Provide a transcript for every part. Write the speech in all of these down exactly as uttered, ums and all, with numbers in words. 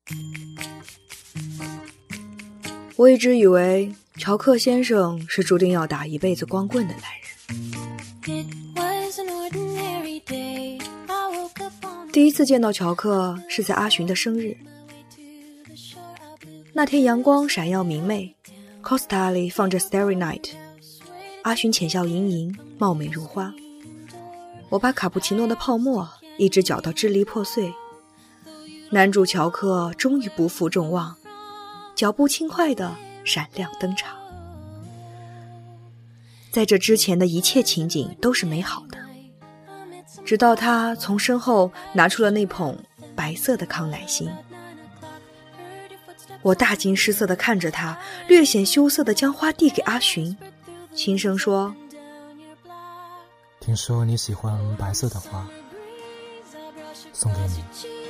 我一直以为乔克先生是注定要打一辈子光棍的男人。第一次见到乔克是在阿寻的生日，那天阳光闪耀明媚， Costa 里放着 Starry Night， 阿寻浅笑盈盈，貌美如花。我把卡布奇诺的泡沫一直搅到支离破碎，男主乔克终于不负众望，脚步轻快地闪亮登场。在这之前的一切情景都是美好的，直到他从身后拿出了那捧白色的康乃馨。我大惊失色地看着他，略显羞涩地将花递给阿寻，轻声说： 听说你喜欢白色的花，送给你。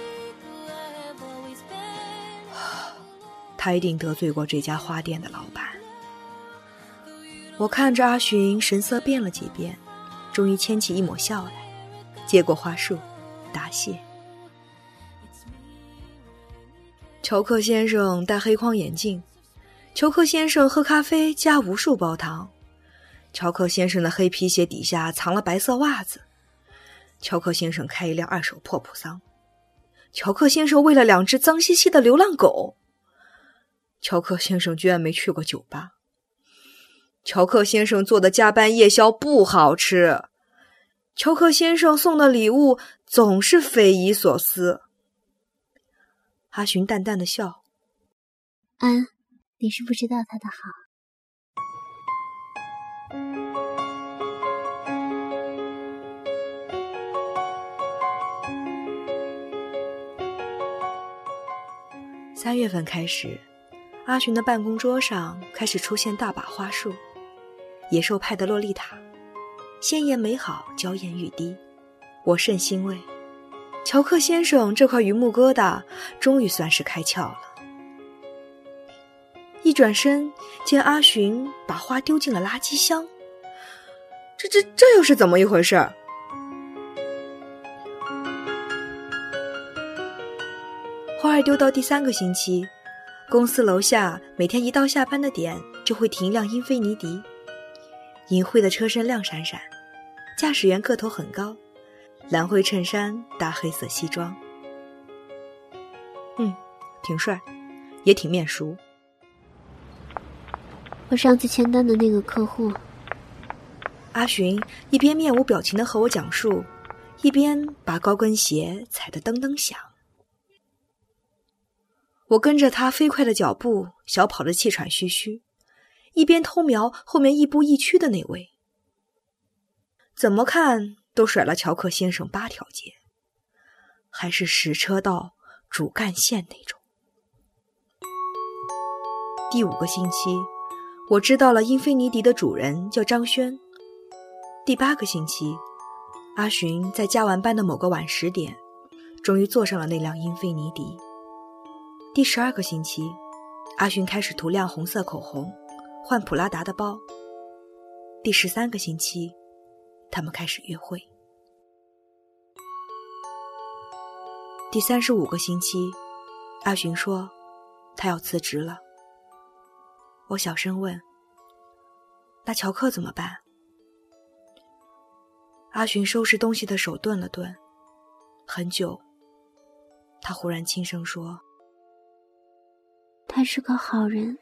他一定得罪过这家花店的老板。我看着阿寻神色变了几变，终于牵起一抹笑来，接过花束答谢。乔克先生戴黑框眼镜，乔克先生喝咖啡加无数包糖，乔克先生的黑皮鞋底下藏了白色袜子，乔克先生开一辆二手破普桑，乔克先生为了两只脏兮兮的流浪狗，乔克先生居然没去过酒吧，乔克先生做的加班夜宵不好吃，乔克先生送的礼物总是匪夷所思。阿寻淡淡的笑： 安，你是不知道他的好。 三月份开始，阿寻的办公桌上开始出现大把花束，野兽派的洛丽塔，鲜艳美好，娇艳欲滴，我甚欣慰。乔克先生这块榆木疙瘩终于算是开窍了。一转身见阿寻把花丢进了垃圾箱，这这这又是怎么一回事？花儿丢到第三个星期，公司楼下每天一到下班的点就会停一辆英菲尼迪，银灰的车身亮闪闪，驾驶员个头很高，蓝灰衬衫搭黑色西装，嗯，挺帅，也挺面熟。 我上次签单的那个客户。 阿寻一边面无表情地和我讲述，一边把高跟鞋踩得噔噔响。我跟着他飞快的脚步，小跑着气喘吁吁，一边偷瞄后面亦步亦趋的那位，怎么看都甩了乔克先生八条街，还是十车道主干线那种。第五个星期，我知道了英菲尼迪的主人叫张轩。第八个星期，阿寻在加完班的某个晚十点，终于坐上了那辆英菲尼迪。第十二个星期，阿寻开始涂亮红色口红，换普拉达的包。第十三个星期，他们开始约会。第三十五个星期，阿寻说他要辞职了。我小声问：那乔克怎么办？阿寻收拾东西的手顿了顿，很久，他忽然轻声说： 他是个好人。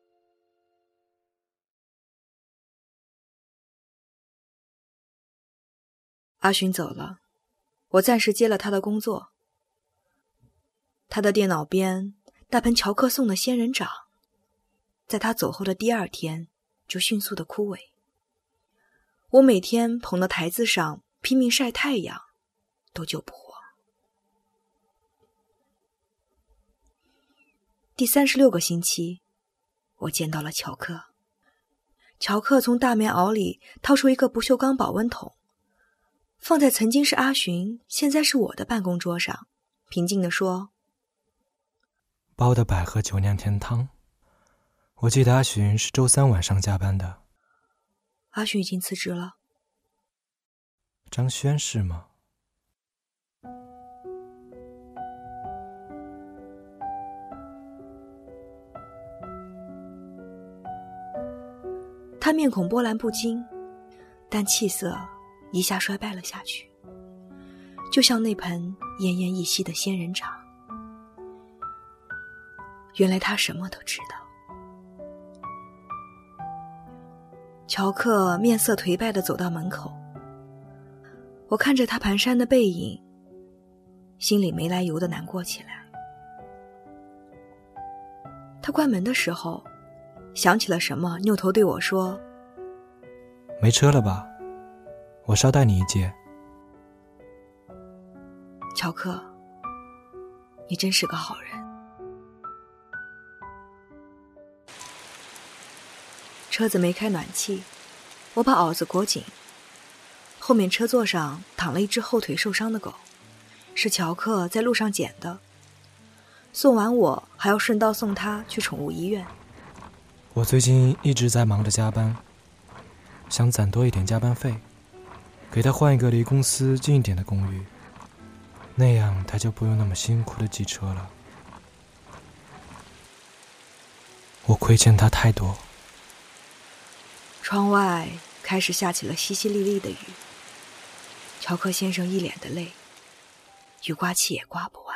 阿寻走了，我暂时接了他的工作。他的电脑边那盆乔克送的仙人掌，在他走后的第二天就迅速的枯萎。我每天捧到台子上拼命晒太阳，都救不活。第三十六个星期，我见到了乔克。乔克从大棉袄里掏出一个不锈钢保温桶，放在曾经是阿寻，现在是我的办公桌上，平静地说： 包的百合酒酿甜汤。我记得阿寻是周三晚上加班的。 阿寻已经辞职了。 张轩是吗？ 他面孔波澜不惊，但气色一下衰败了下去，就像那盆奄奄一息的仙人掌。原来他什么都知道。乔克面色颓败地走到门口，我看着他蹒跚的背影，心里没来由地难过起来。他关门的时候想起了什么，扭头对我说： 没车了吧？我捎带你一截。 乔克，你真是个好人。车子没开暖气，我把袄子裹紧。后面车座上躺了一只后腿受伤的狗，是乔克在路上捡的。送完我还要顺道送他去宠物医院。 我最近一直在忙着加班，想攒多一点加班费，给他换一个离公司近一点的公寓，那样他就不用那么辛苦的挤车了。我亏欠他太多。 窗外开始下起了淅淅沥沥的雨，乔克先生一脸的泪，雨刮器也刮不完。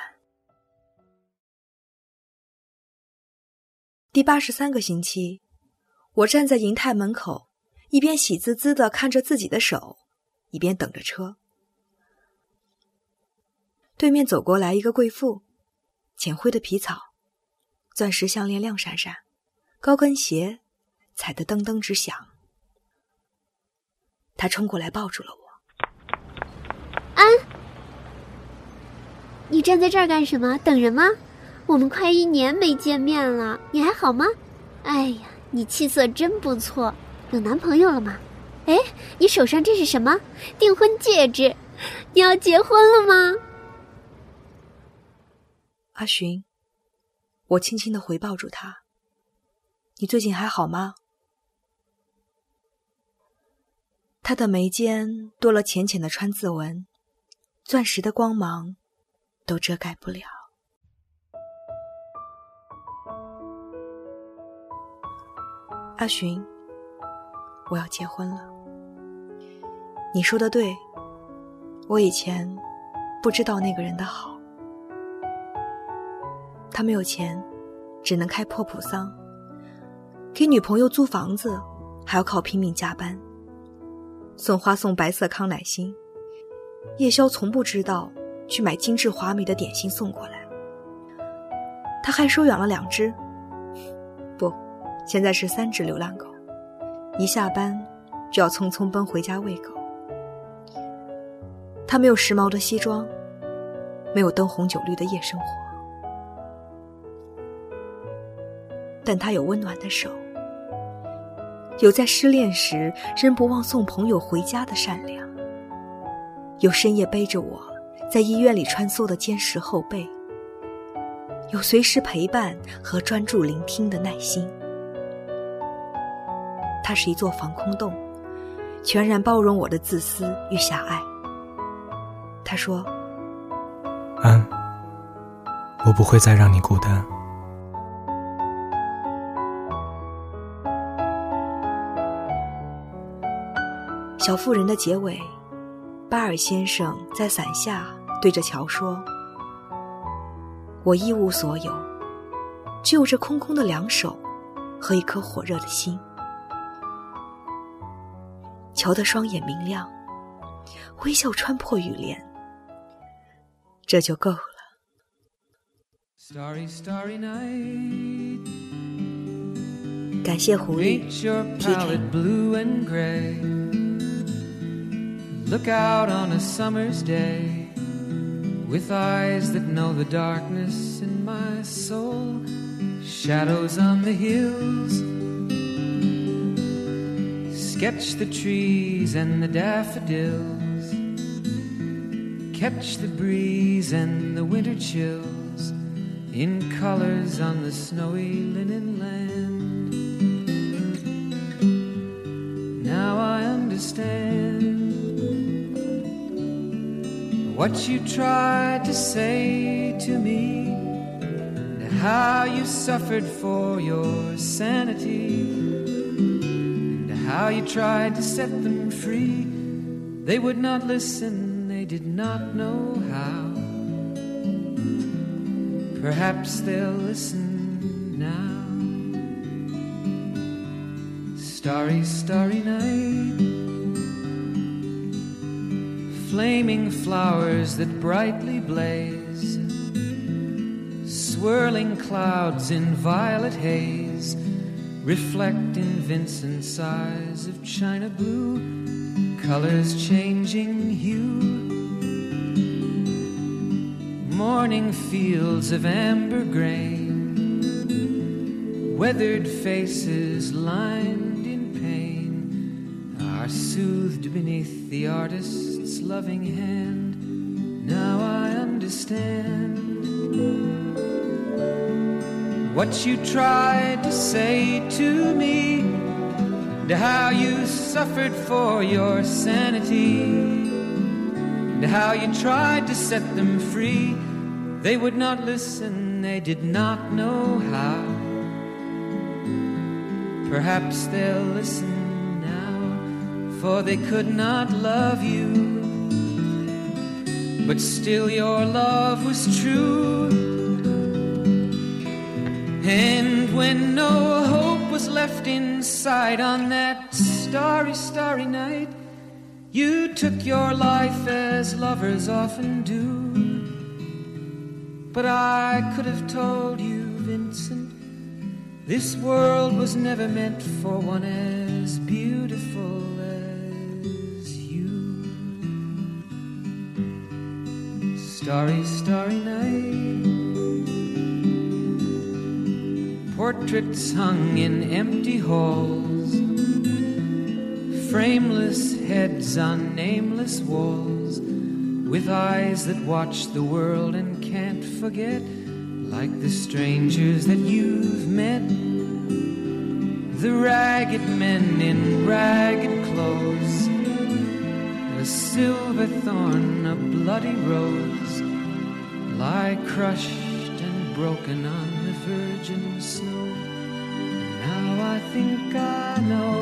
第八十三个星期，我站在银泰门口，一边喜滋滋地看着自己的手，一边等着车。对面走过来一个贵妇，浅灰的皮草，钻石项链亮闪闪，高跟鞋踩得噔噔直响。她冲过来抱住了我。 安，你站在这儿干什么？等人吗？我们快一年没见面了，你还好吗？哎呀，你气色真不错，有男朋友了吗？哎，你手上这是什么？订婚戒指，你要结婚了吗？ 阿寻，我轻轻地回抱住他，你最近还好吗？他的眉间多了浅浅的川字纹，钻石的光芒都遮盖不了。阿寻，我要结婚了。你说的对，我以前不知道那个人的好。他没有钱，只能开破普桑，给女朋友租房子还要靠拼命加班，送花送白色康乃馨，夜宵从不知道去买精致华美的点心送过来。他还收养了两只，不，现在是三只流浪狗，一下班就要匆匆奔回家喂狗。他没有时髦的西装，没有灯红酒绿的夜生活，但他有温暖的手，有在失恋时仍不忘送朋友回家的善良，有深夜背着我在医院里穿梭的坚实后背，有随时陪伴和专注聆听的耐心。它是一座防空洞，全然包容我的自私与狭隘。他说： 安，我不会再让你孤单。 小妇人的结尾，巴尔先生在伞下对着乔说：我一无所有，只有这空空的两手和一颗火热的心。乔的双眼明亮，微笑穿破雨帘，这就够了。 Starry, starry night. 感谢狐狸 Paint your palette blue and gray. Look out on a summer's day with eyes that know the darkness in my soul. Shadows on the hills. Sketch the trees and the daffodils. Catch the breeze and the winter chills in colors on the snowy linen land. Now I understand what you tried to say to me, and how you suffered for your sanity, and how you tried to set them free. They would not listen, they did not know how. Perhaps they'll listen now. Starry, starry night, flaming flowers that brightly blaze, swirling clouds in violet haze, reflect in Vincent's eyes of china blue, colors changing hue. Morning fields of amber grain, weathered faces lined in pain, are soothed beneath the artist's loving hand. Now I understand what you tried to say to me, and how you suffered for your sanity, and how you tried to set them free. They would not listen, they did not know how. Perhaps they'll listen now, for they could not love you, but still your love was true. And when no hope was left inside on that starry, starry night, you took your life as lovers often do. But I could have told you, Vincent, this world was never meant for one as beautiful as you. Starry, starry night, portraits hung in empty halls, frameless heads on nameless walls, with eyes that watch the world and can't forget, like the strangers that you've met, the ragged men in ragged clothes, a silver thorn, a bloody rose, lie crushed and broken on the virgin snow. Now I think I know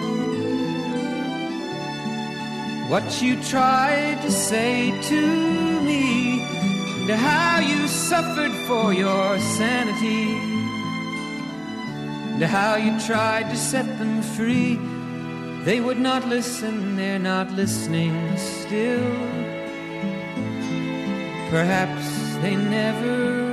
what you tried to say to me, and how you suffered for your sanity, and how you tried to set them free. They would not listen, they're not listening still. Perhaps they never